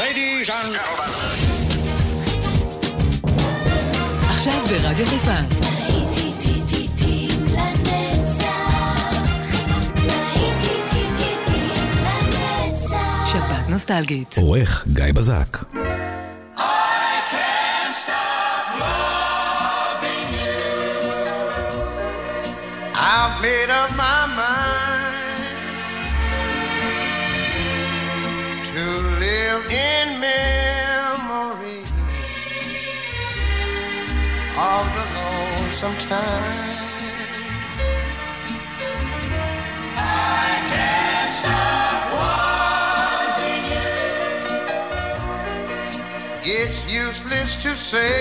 Ladies and gentlemen. עכשיו ברדיו חיפה. שבת נוסטלגית. עורך גיא בזק. I've made up my mind to live in memory of the lonesome time. I can't stop wanting you. It's useless to say,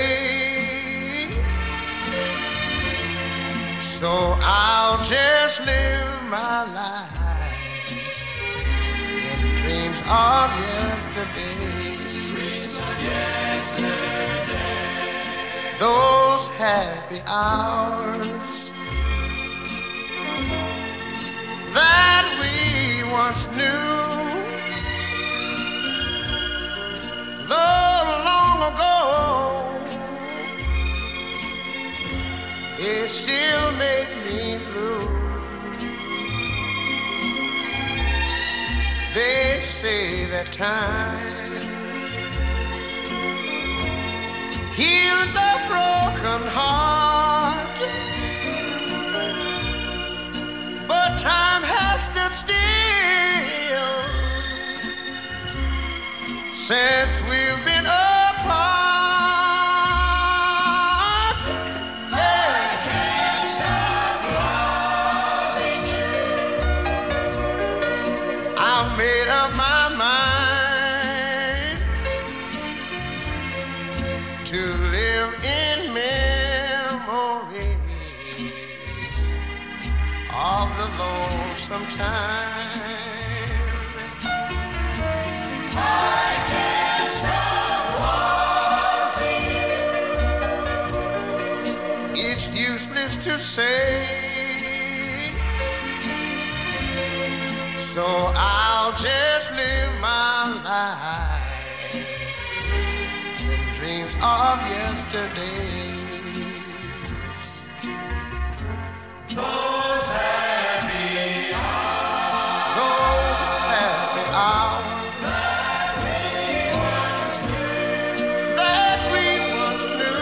so I'll just live my life in dreams of yesterday. Dreams of yesterday. Those happy hours that we once knew, though long ago, it still make me blue. They say that time heals a broken heart, but time has stood still since we've been apart. Made up my mind to live in memories of the lonesome time. I can't stop wanting you. It's useless to say, so I'll just live my life in dreams of yesterdays. Those happy hours. Those happy hours that we once knew. That we once knew.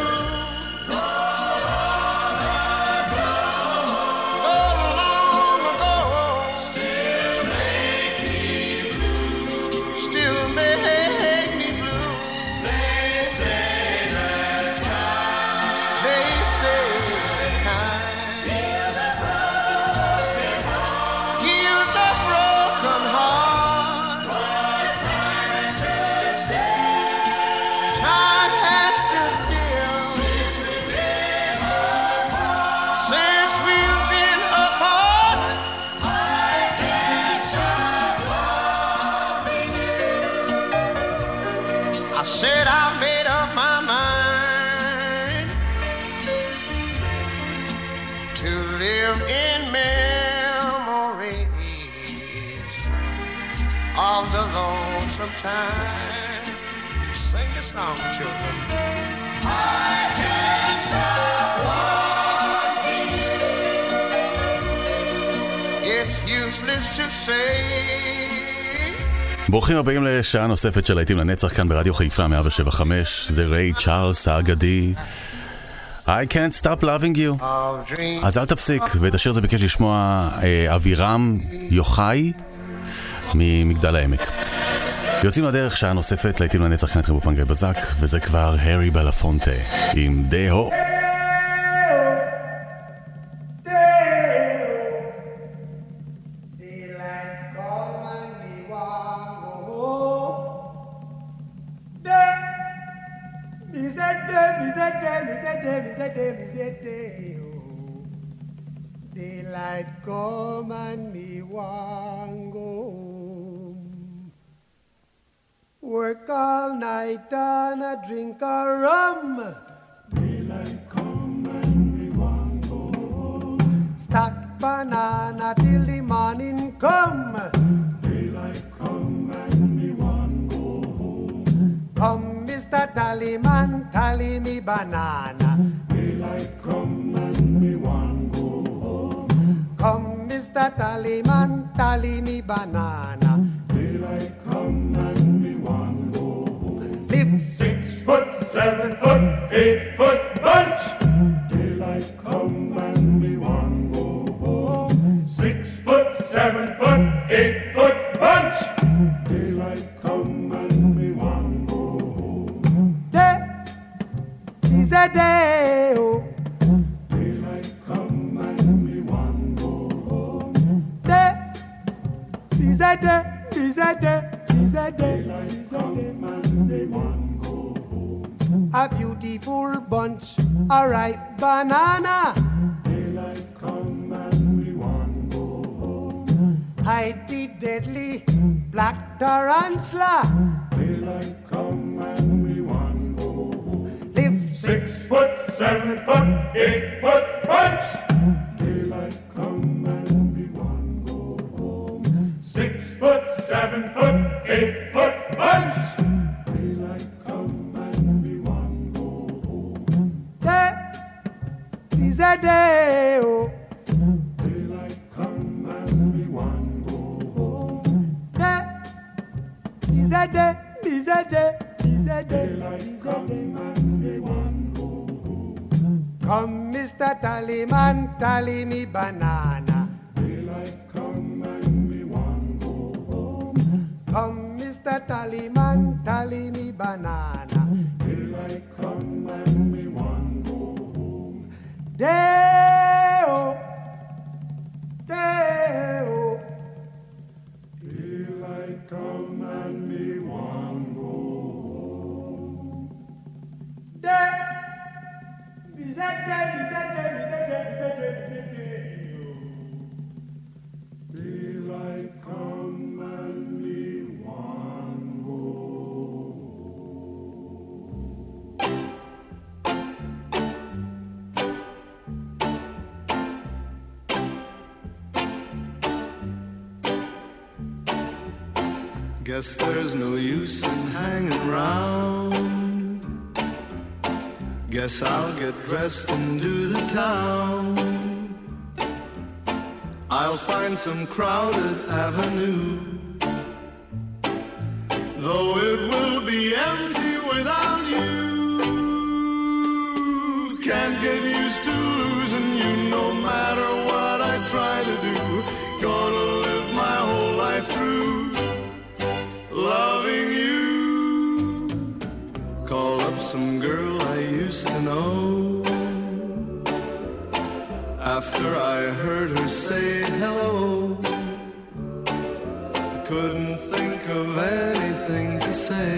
Said I made up my mind to live in memories of the lonesome time. Sing this song, children. I can't stop wanting you. It's useless to say. ברוכים הבאים לשעה נוספת של להיטים לנצח כאן ברדיו חיפה 107.5. זה ריי צ'ארלס האגדי, I can't stop loving you. אז אל תפסיק. ואת השיר זה ביקש לשמוע אבירם יוחאי ממגדל העמק. יוצאים לדרך, שעה נוספת להיטים לנצח כאן באולפן גיא בזק, וזה כבר הרי בלפונטה עם דהו. Daylight come and me want go home. Work all night and a drink a rum. Daylight come and me want go home. Stack banana till the morning come. Daylight come and me want go home. Mr. Tallyman, tally me banana. Daylight come and me want go home. Come, Mr. Tallyman, tally me banana. Daylight come and me want go home. Live 6 foot, 7 foot, 8 foot bunch. Daylight come and me want go home. 6 foot, 7 foot, 8 foot bunch. Daylight come and me want go home. day is a day, oh. Daylight come and me want go home. Day is a day, is a day, is a day. Daylight come and me want go home. A beautiful bunch, a ripe banana. Daylight come and me want go home. Hide the deadly black tarantula. Daylight come and me want go home. Live 6 foot, 7 foot, 8 foot bunch. Daylight come and me want go home. 6 foot, 7 foot, 8 foot bunch. Daylight come and me want go home. day is a day, oh. Daylight come and me want go home. Day is a day, is a day, is a day, Daylight is a come day. and me want go home. Come, Mr. Tallyman, tally me banana. Daylight come and me want go home. Come, Mr. Tallyman, tally me banana. Daylight come and me want go home. Day-o, day-o. Daylight come and me want go home. Day is a day, is a day, is a day, is a day, is a day. Daylight come and me want go Guess there's no use in hanging round. Guess I'll get dressed and do the town. I'll find some crowded avenue, though it will be empty without you. Can't get used to losing you no matter what I try to do. Gonna live my whole life through loving you. Call up some girl I used to know. After I heard her say hello, I couldn't think of anything to say.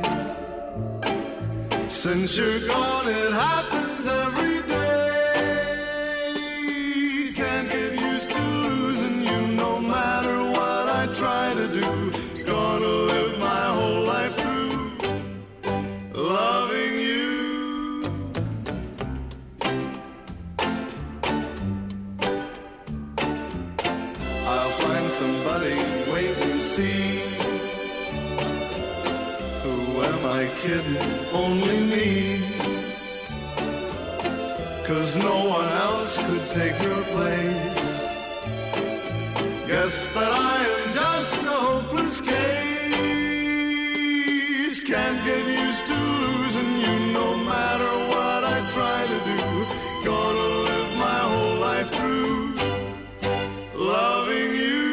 Since you're gone, it happens every day. Can't get used to losing you no matter what I try to do. Gonna live my whole life through loving you. I'll find somebody, wait and see. Who am I kidding? Only me. 'Cause no one else could take your place. Guess that I am just a hopeless case. Can't get used to losing you no matter what I try to do. Gonna live my whole life through loving you.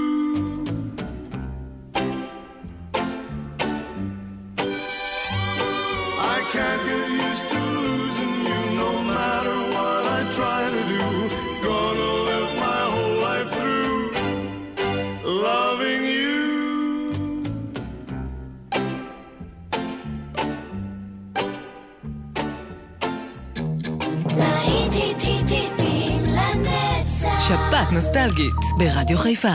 I can't get used to losing you no matter what I try to do. Gonna live my whole life through loving you. שפעת נוסטלגית ברדיו חיפה.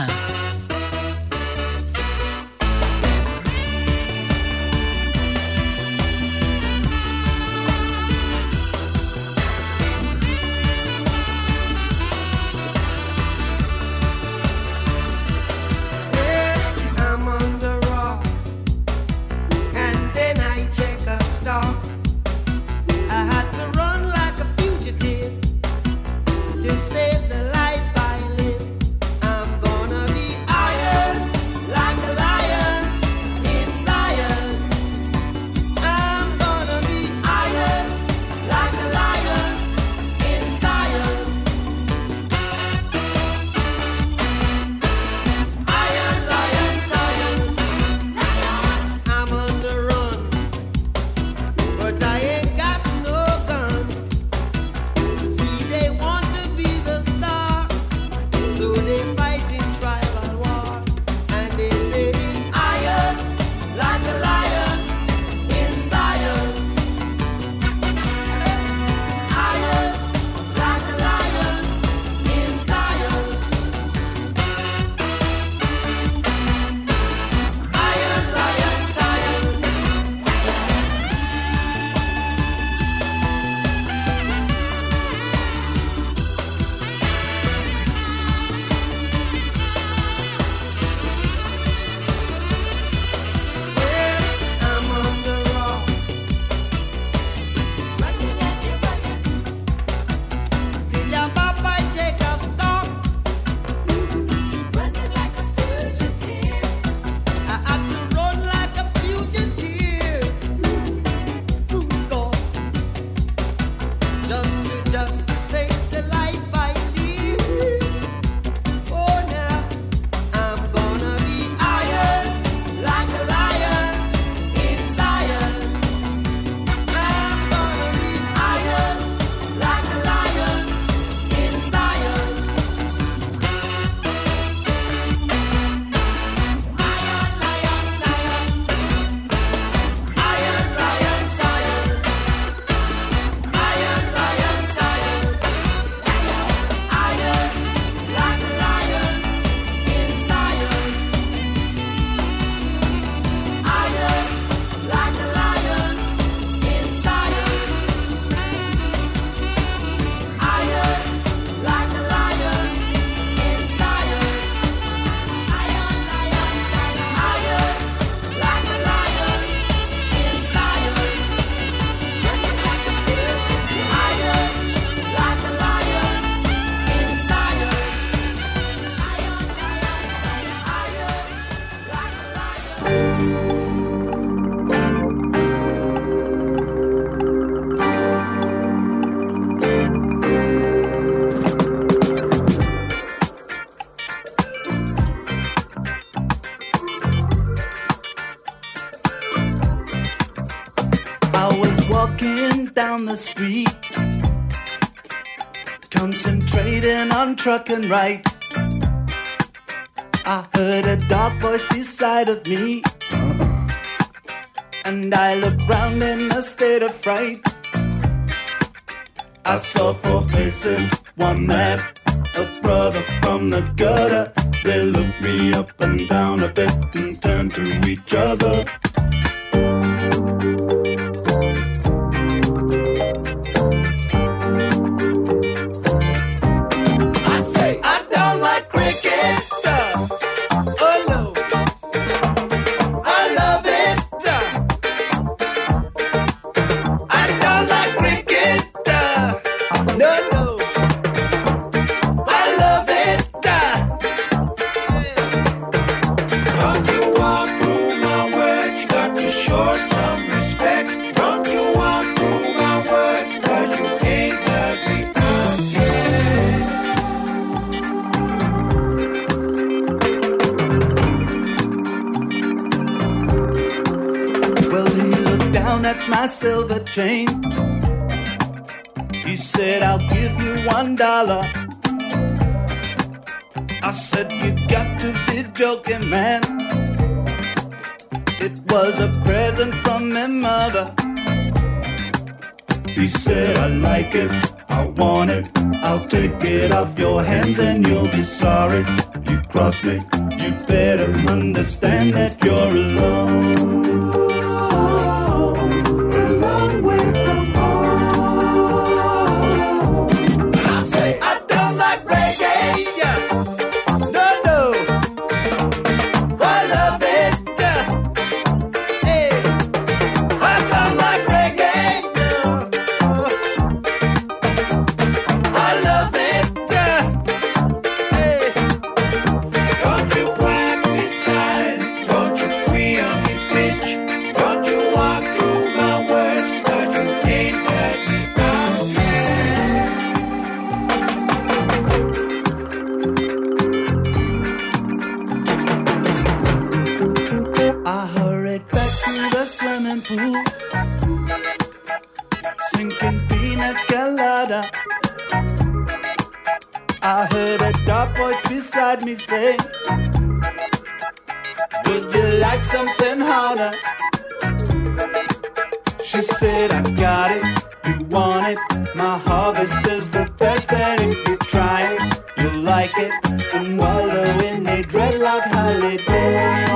I'm on the rock, and then I take a stop. walking down the street, concentrating on trucking right. I heard a dark voice beside of me, and I looked round in a state of fright. I saw four faces, one man, a brother from the gutter. They looked me up and down a bit and turned to each other. I say, I don't like cricket. Oh no, I love it. I don't like cricket. No, no, I love it. Don't you walk through my words, you got to show some respect. Don't you walk through my words, 'cause you ain't heard me Well, he looked down at my silver chain. He said, I'll give you $1. I said, you got to be joking, man. It was a present from my mother. He said, I like it, I want it, I'll take it off your hands and you'll be sorry. You cross me, you better understand that you're alone. A long way from home. And I say, I don't like reggae. No, no, I love it. Hey, I don't like reggae. I love it. Hey, Don't you whack me style, don't you queer on me bitch. Don't you walk through my words, 'cause you ain't heard me out. I hurried back to the swimming pool, sinking pina colada. I heard a dark voice beside me say, would you like something harder? She said, I got it, you want it. My harvest is the best, and if you try it, you'll like it. And wallow in a dreadlock holiday.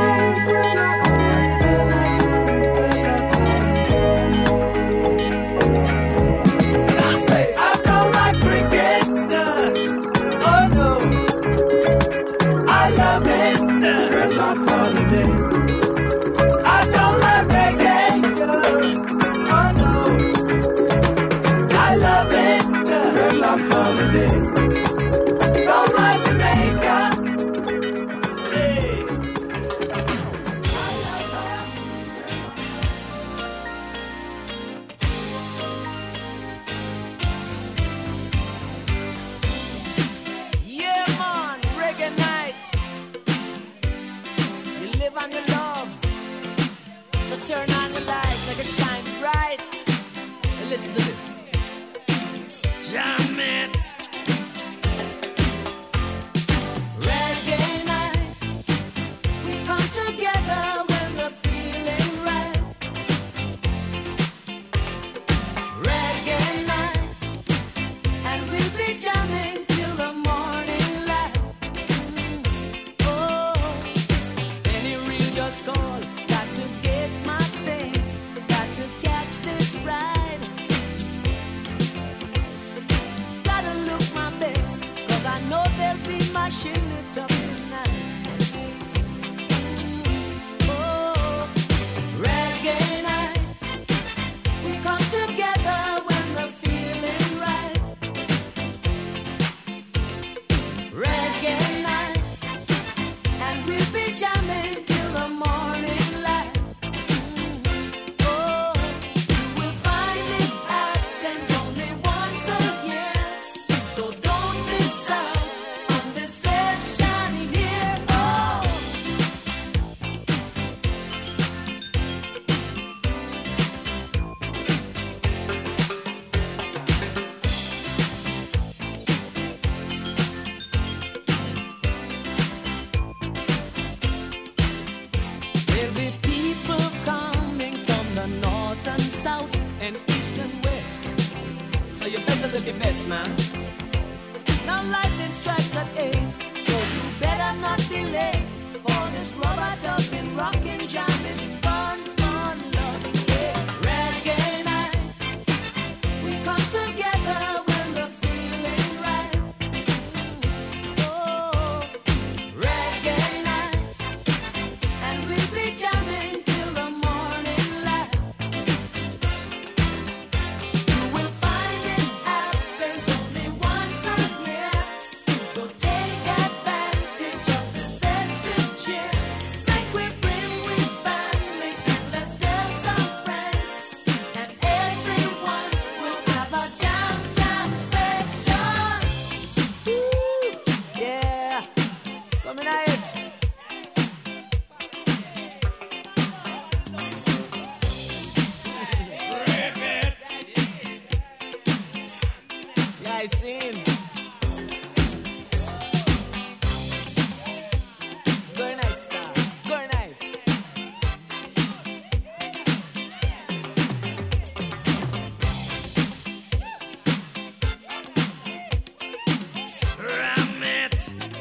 I say, I don't like cricket. Oh no, I love it. Dreadlock holiday. I don't like reggae. Oh no, I love it. Dreadlock holiday. Don't like Jamaica. Hey. Yeah, man, reggae night. You live on your love. So turn on the light, make it shine bright. And listen to this. Jam it. Reggae night. We come together when we're feeling right. Reggae night. And we'll be jamming till the morning light. Oh, any real just call. Got to get my things. Got to catch this ride. Gotta investment. Now lightning strikes at 8, so you better not be late for this rubber ducking, rocking, jamming, fun, fun, loving day. Reggae night, we come together when the feeling's right. Oh, reggae night, and we'll be jamming till the morning light. You will find it happens only once a year, so take advantage of this festive cheer. Make we bring with family and let's tell some friends, and everyone will have a jam jam session. Woo, yeah, coming at it. Yeah, I seen. Good night, star. Good night. Ram it.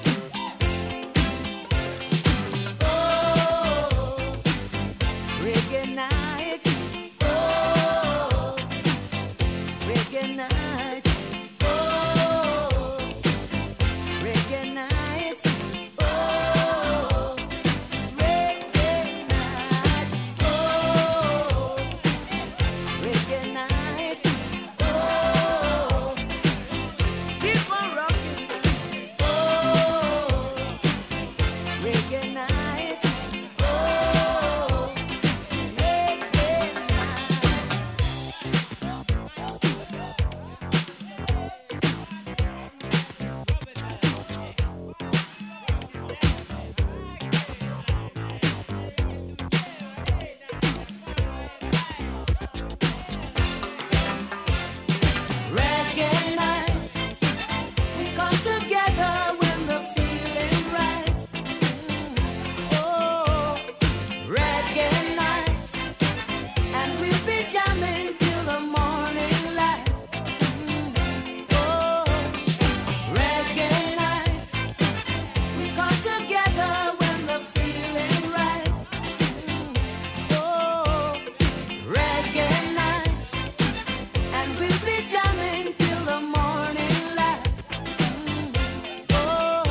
Oh, reggae night. Oh, reggae night. Oh, reggae night. Oh, reggae night. Oh, reggae night. Oh, keep on rocking. Oh, reggae night. Oh, reggae night. Reggae night, we come together when the feeling's right. Oh, reggae night, and we'll be jamming till the morning light. Oh, reggae night, we come together when the feeling's right. Oh, reggae night, and we'll be jamming till the morning light. Oh,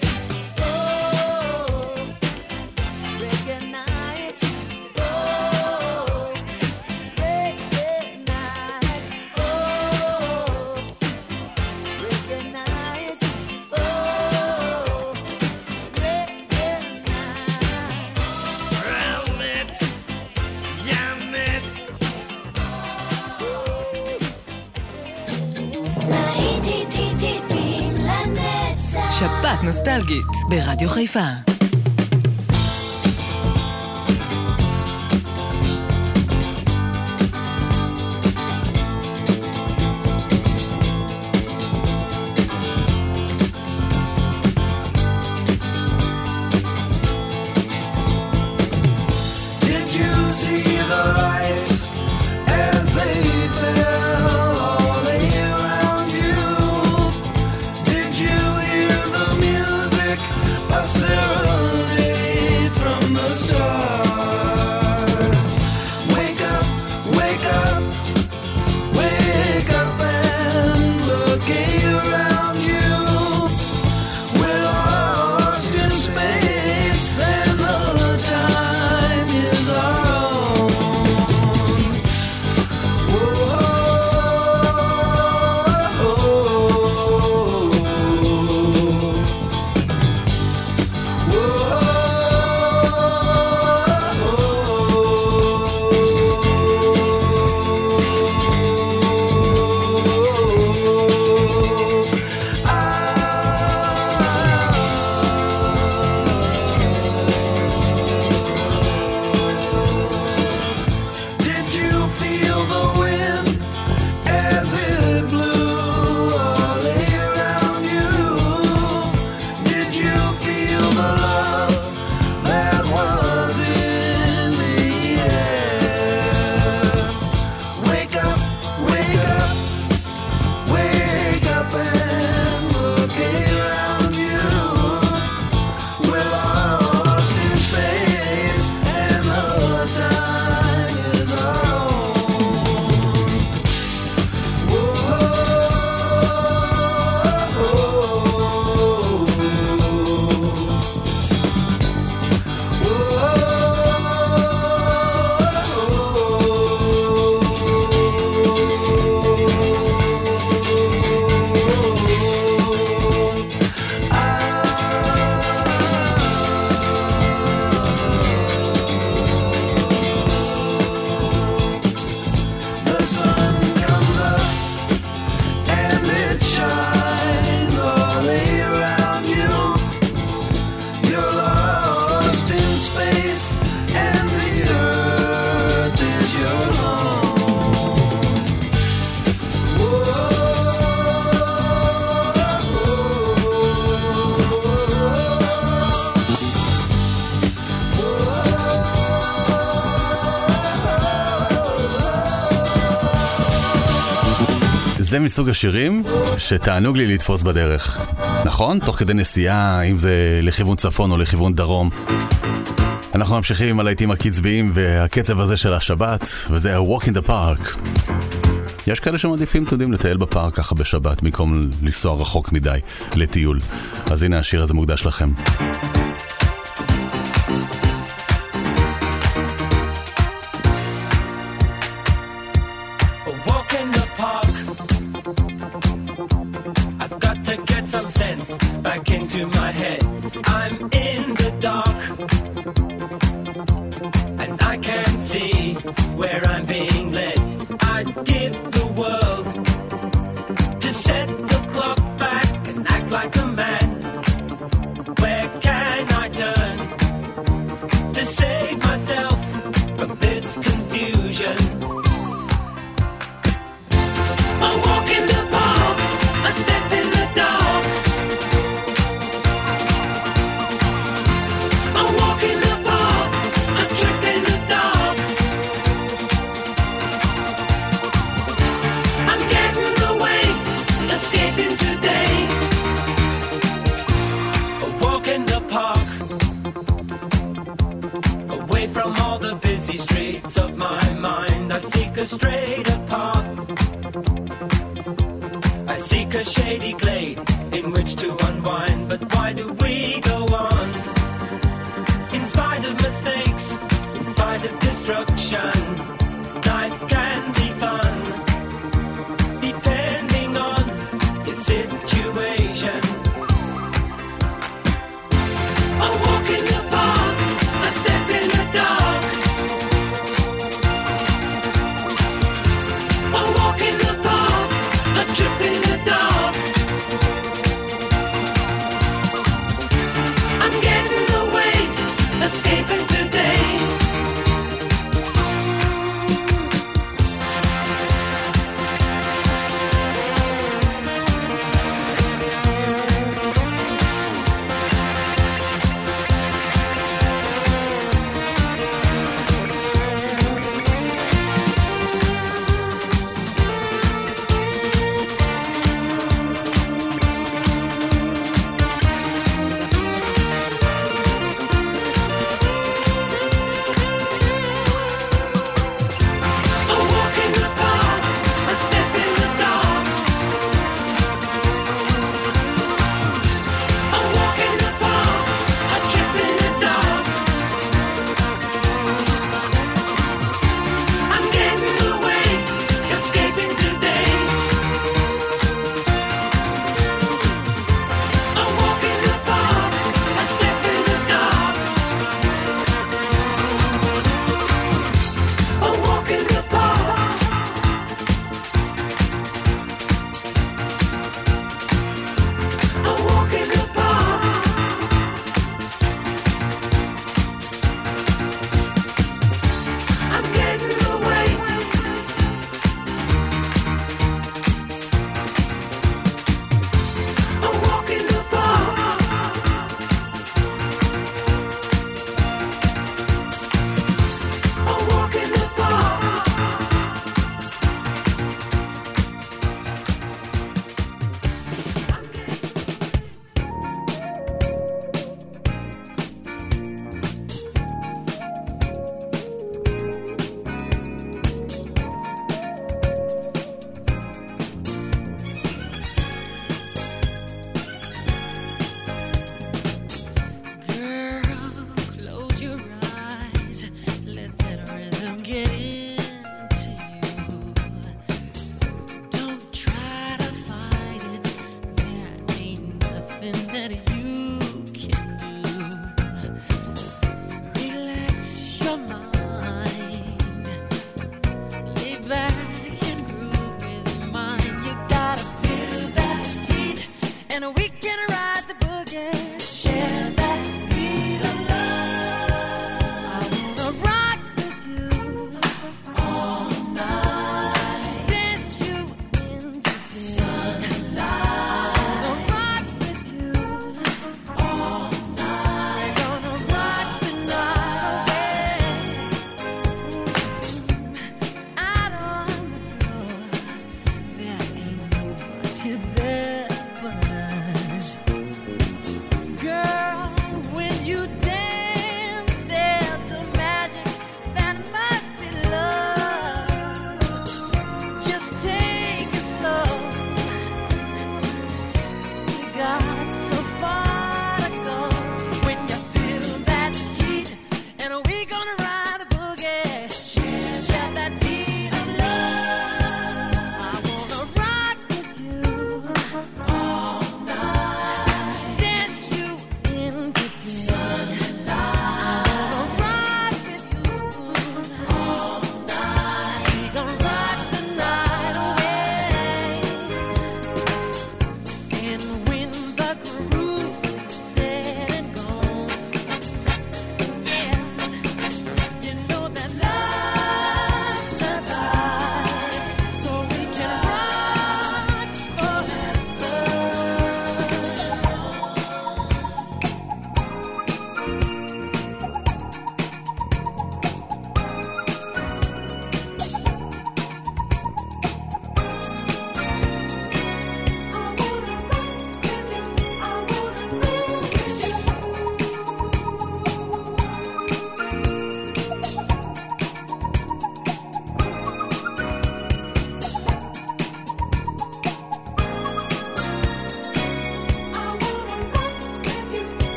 oh, reggae night. Oh, reggae night. Oh, reggae night. Oh, reggae night. Ram it, jam it. שבת נוסטלגית ברדיו חיפה. Did you see the lights as they fell all around you? Did you hear the music of Sarah זה מסוג השירים שתענוג לי לתפוס בדרך. נכון? תוך כדי נסיעה, אם זה לכיוון צפון או לכיוון דרום. אנחנו ממשיכים עם הלהיטים הקצביים והקצב הזה של השבת, וזה ה-Walk in the Park. יש כאלה שמעדיפים, תיודעים, לטייל בפארק ככה בשבת, במקום לנסוע רחוק מדי לטיול. אז הנה השיר הזה מוקדש לכם.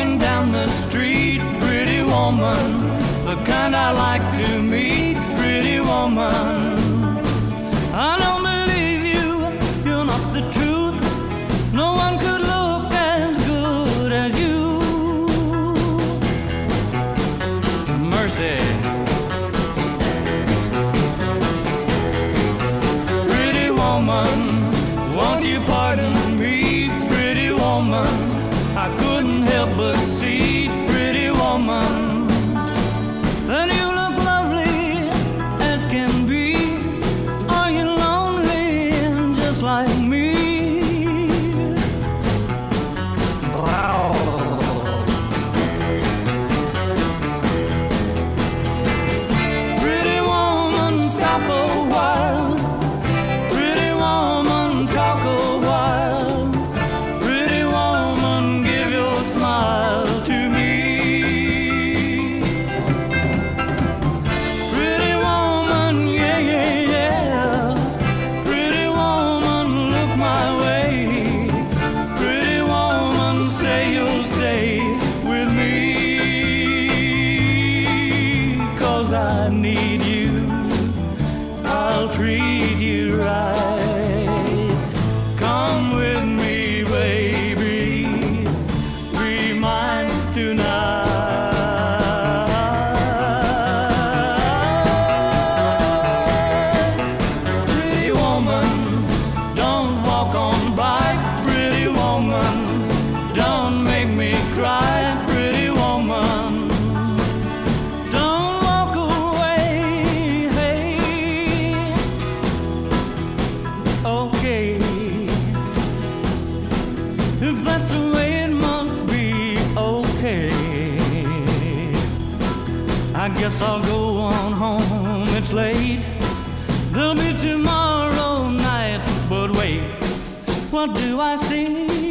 walking down the street, pretty woman, the kind I like to meet, pretty woman. I don't believe you, you're not the truth. No one could look as good as you. Mercy. Pretty woman, won't you pardon me, pretty woman? I couldn't help but see, pretty woman, that you look lovely as can be. Are you lonely just like me? Pretty woman, stop a while. Pretty woman, talk a while. Pretty woman, give your smile to me. Pretty woman, yeah, yeah, yeah. Pretty woman, look my way. Pretty woman, say you'll stay with me. 'Cause I need you, I'll treat you right. Come with me, baby, be mine tonight. Pretty woman, don't walk on by. Pretty woman, don't make me cry. Pretty woman, don't walk away. Hey, okay, if that's the way it must be, okay. I guess I'll go on home, it's late. There'll be tomorrow night, but wait, what do I see?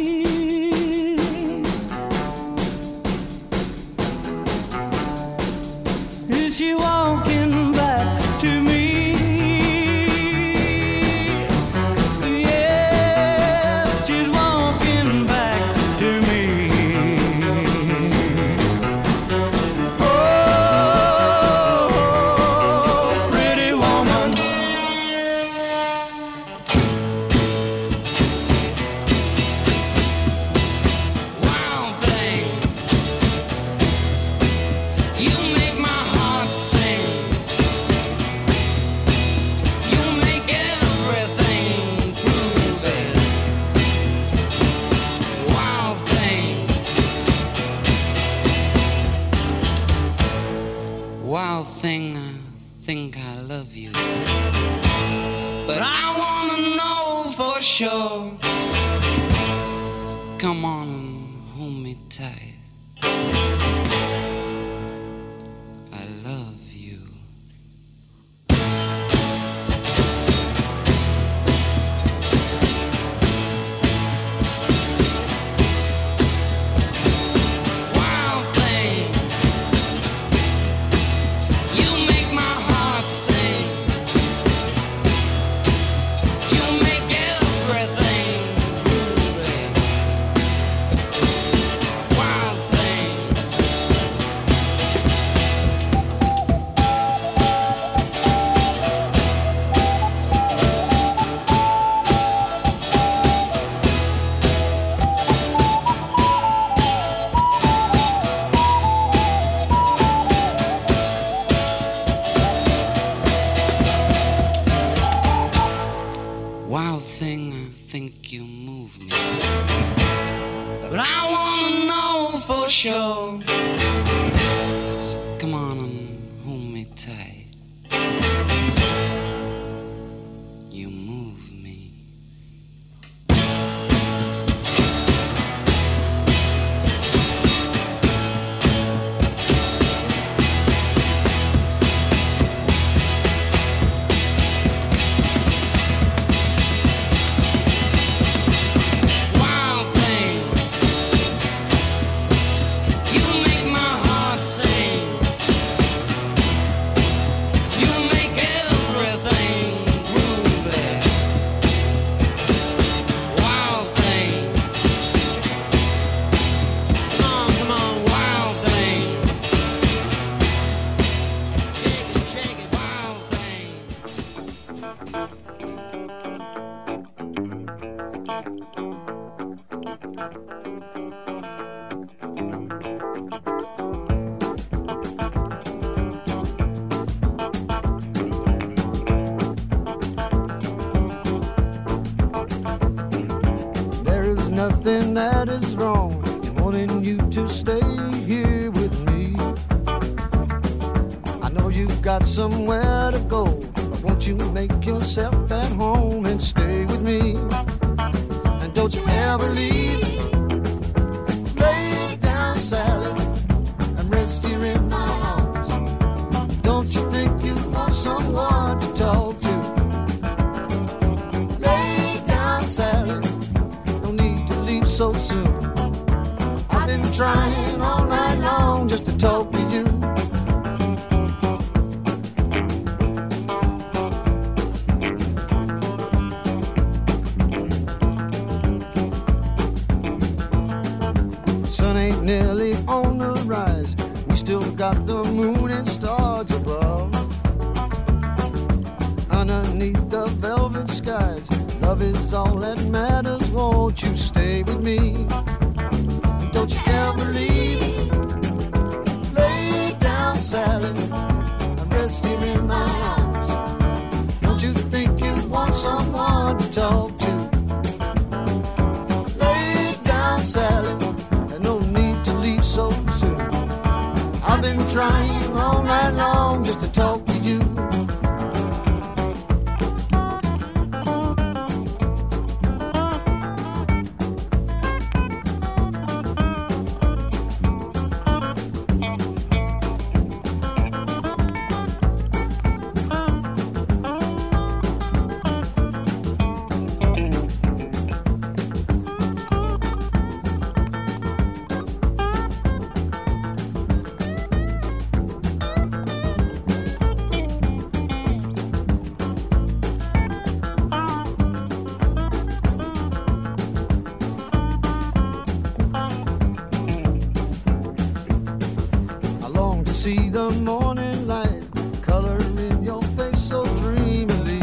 Is she walking back to me? Yes, she's walking back to me. Oh, pretty woman. Wild thing, you make my heart sing. You make everything groovy. Wild thing, wild thing, I think I love you, but I wanna know for sure. So come on and hold me tight. I love you. Wild thing, you make my heart sing. You make everything groovy. Wild thing. Wild thing, I think you move me, but I wanna know for sure. So come on and hold me tight. You move me. Wild thing, you make nothing that is wrong in wanting you to stay here with me. I know you've got somewhere to go, but won't you make yourself at home and stay with me? And don't you ever leave. Lay down, Sally, and rest here in my arms. Don't you think you want someone to talk to? Lay down, Sally, no need to leave so soon. I've been trying all night long just to talk to you. Sun ain't nearly on the rise. We still got the moon and stars above. Underneath the velvet skies, love is all that matters. Won't you stay with me? Don't you ever leave. Lay down, Sally, and rest here in my arms. Don't you think you want someone to talk to? Lay down, Sally, and no need to leave so soon. I've been trying all night long just to talk to you. See the morning light color in your face so dreamily.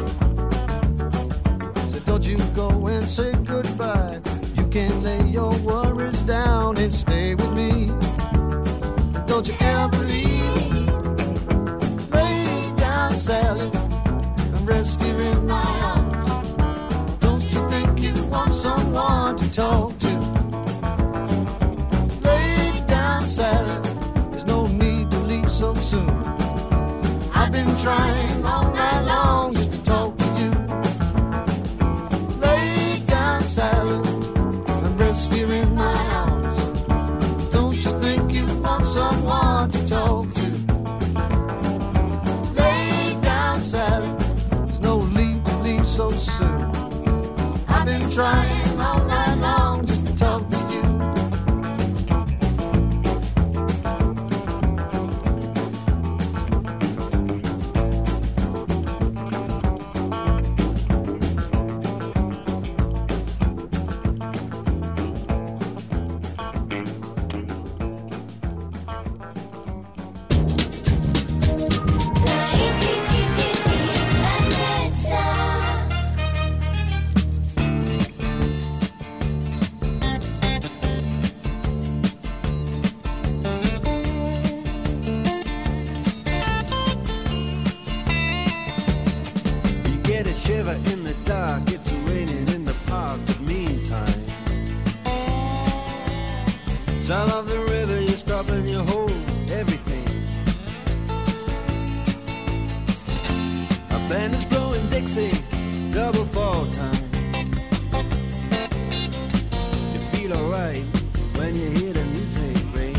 So don't you go and say goodbye. You can lay your worries down and stay with me. Don't you ever leave. Lay down, Sally, and rest here in my arms. Don't you think you want someone to talk to? Lay down, Sally, so soon. I've been trying all night long just to talk to you. Lay down, Sally, and rest here in my arms. Don't you think you want someone to talk to? Lay down, Sally, there's no need to leave so soon. I've been trying all night long just to talk to you. Shiver in the dark, it's raining in the park, but meantime, sound of the river, you stop and you hold everything. A band is blowing Dixie, double fall time. You feel alright when you hear the music ring.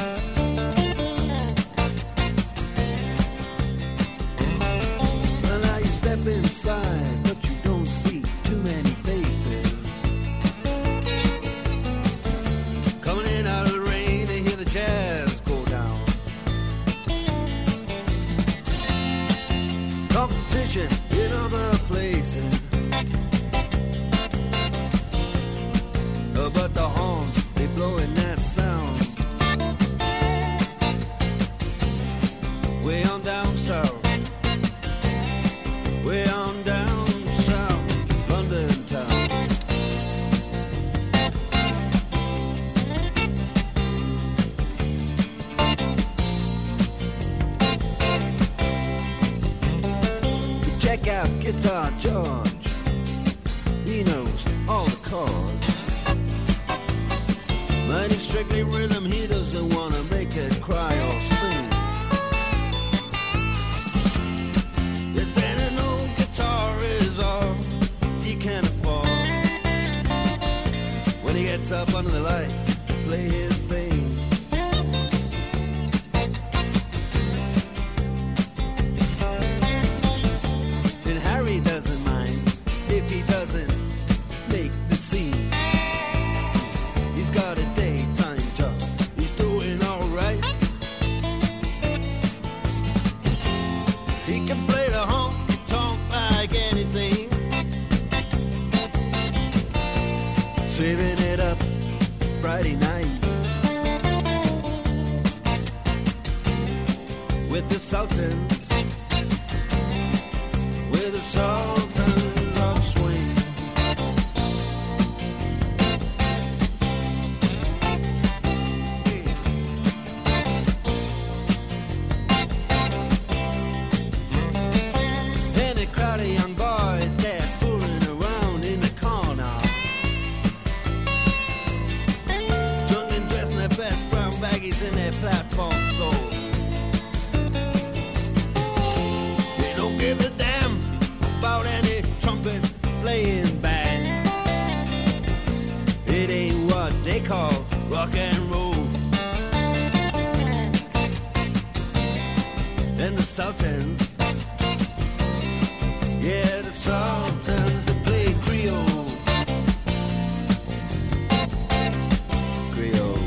Well, now you step inside, but you don't see too many faces. Coming in out of the rain, they hear the jazz go down. Competition in other places, but the horns, they blowing that sound. Way on down south, way on down south, London town. Check out Guitar George, he knows all the chords. strictly rhythm, he doesn't want to make it cry or sing. If then an old guitar is all he can afford, when he gets up under the lights to play his thing, and Harry doesn't mind if he doesn't make the scene. He's got a daytime job, he's doing alright. He can play the honky-tonk like anything, saving it up Friday night with the Sultans, with the Sultans of Swing. And a crowd of young boys, they're fooling around in the corner, drunk and dressed in their best brown baggies in their platform soles. They don't give a damn about any trumpet playing band. It ain't what they call rock and roll. And the Sultans, yeah, the Sultans, they play Creole. Creole.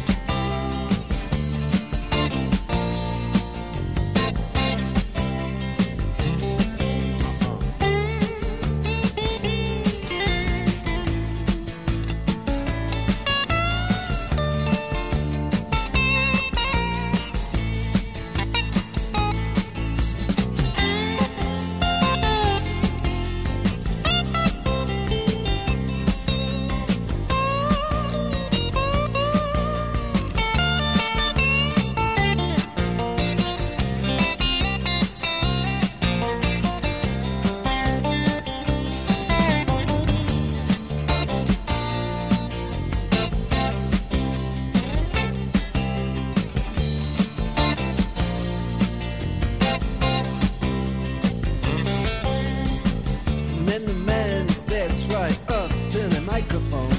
And then the man steps right up to the microphone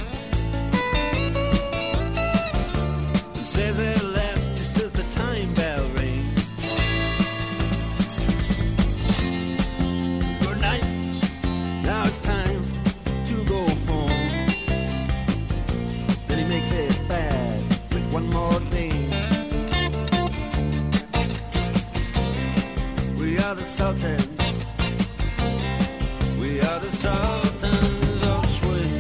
and says at last, just as the time bell rings, good night, now it's time to go home. Then he makes it fast with one more thing. We are the Sultans, we are the Sultans of Swing.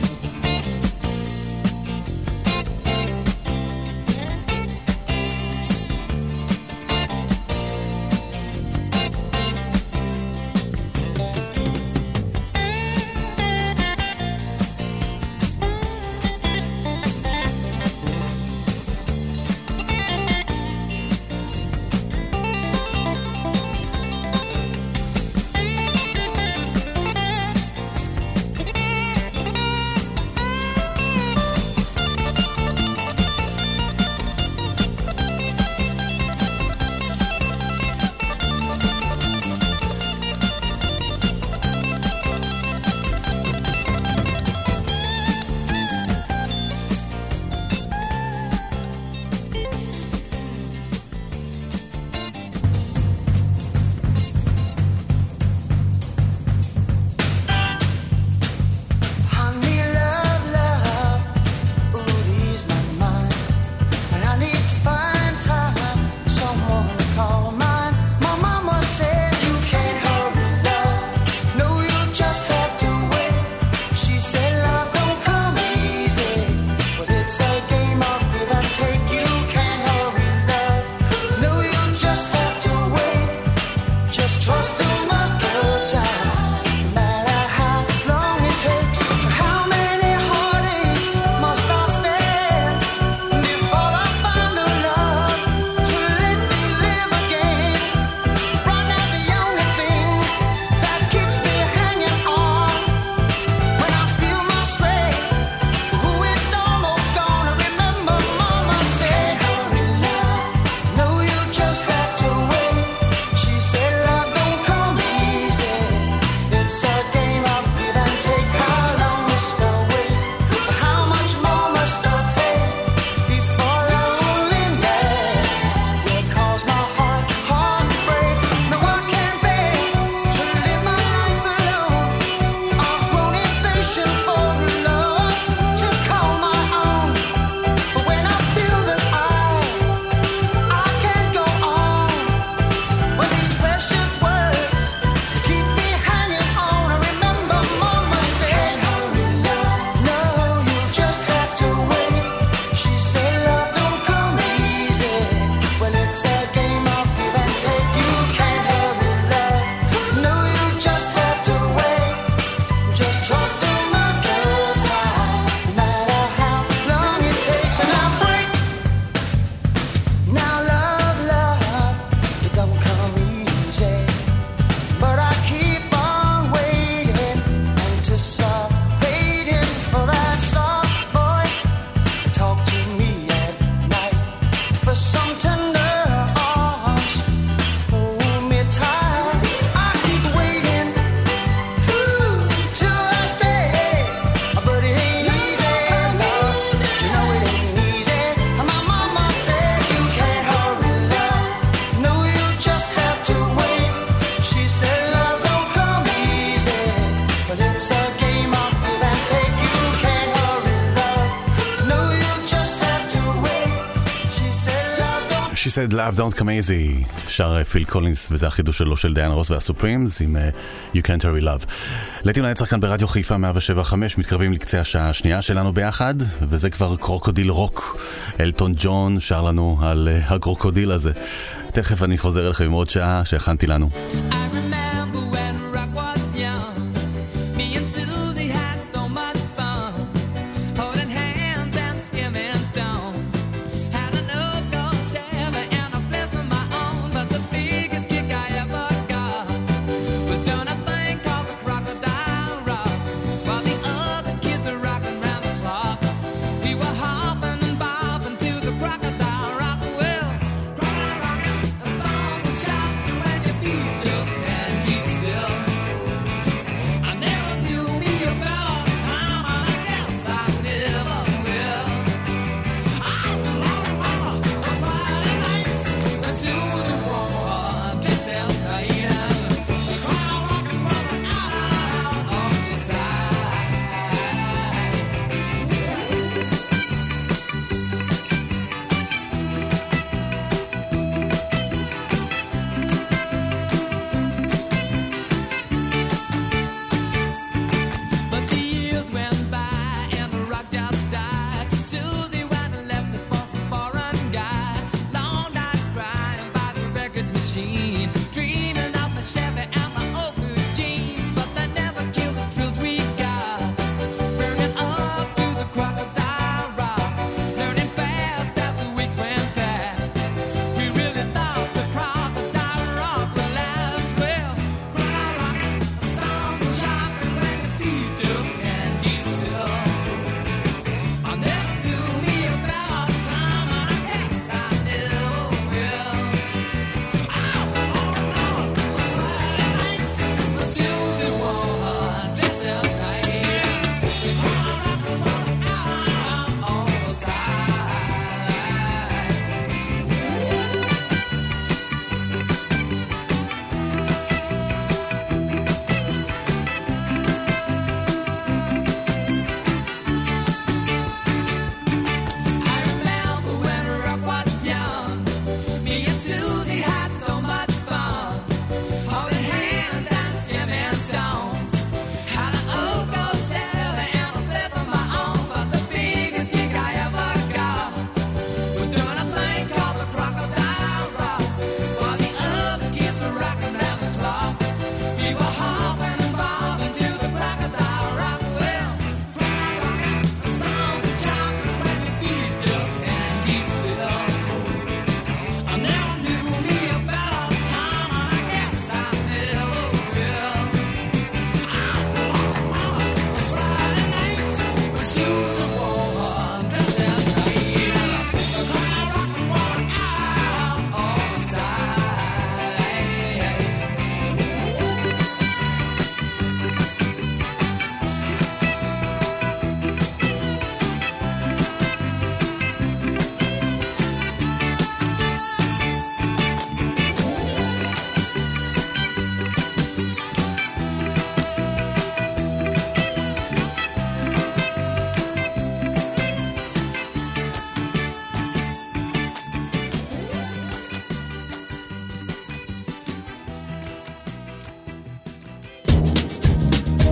She said love don't come easy, שר פיל קולינס, וזה החידוש שלו של דיין רוס והסופרימס עם You Can't Hurry Love. להיטים לנצח כאן ברדיו חיפה 107.5, מתקרבים לקצה השעה השנייה שלנו ביחד, וזה כבר קרוקודיל רוק. אלטון ג'ון שר לנו על הקרוקודיל הזה. תכף אני חוזר אליכם עם עוד שעה שהכנתי לנו.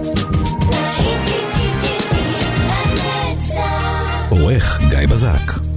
עורך גיא בזק.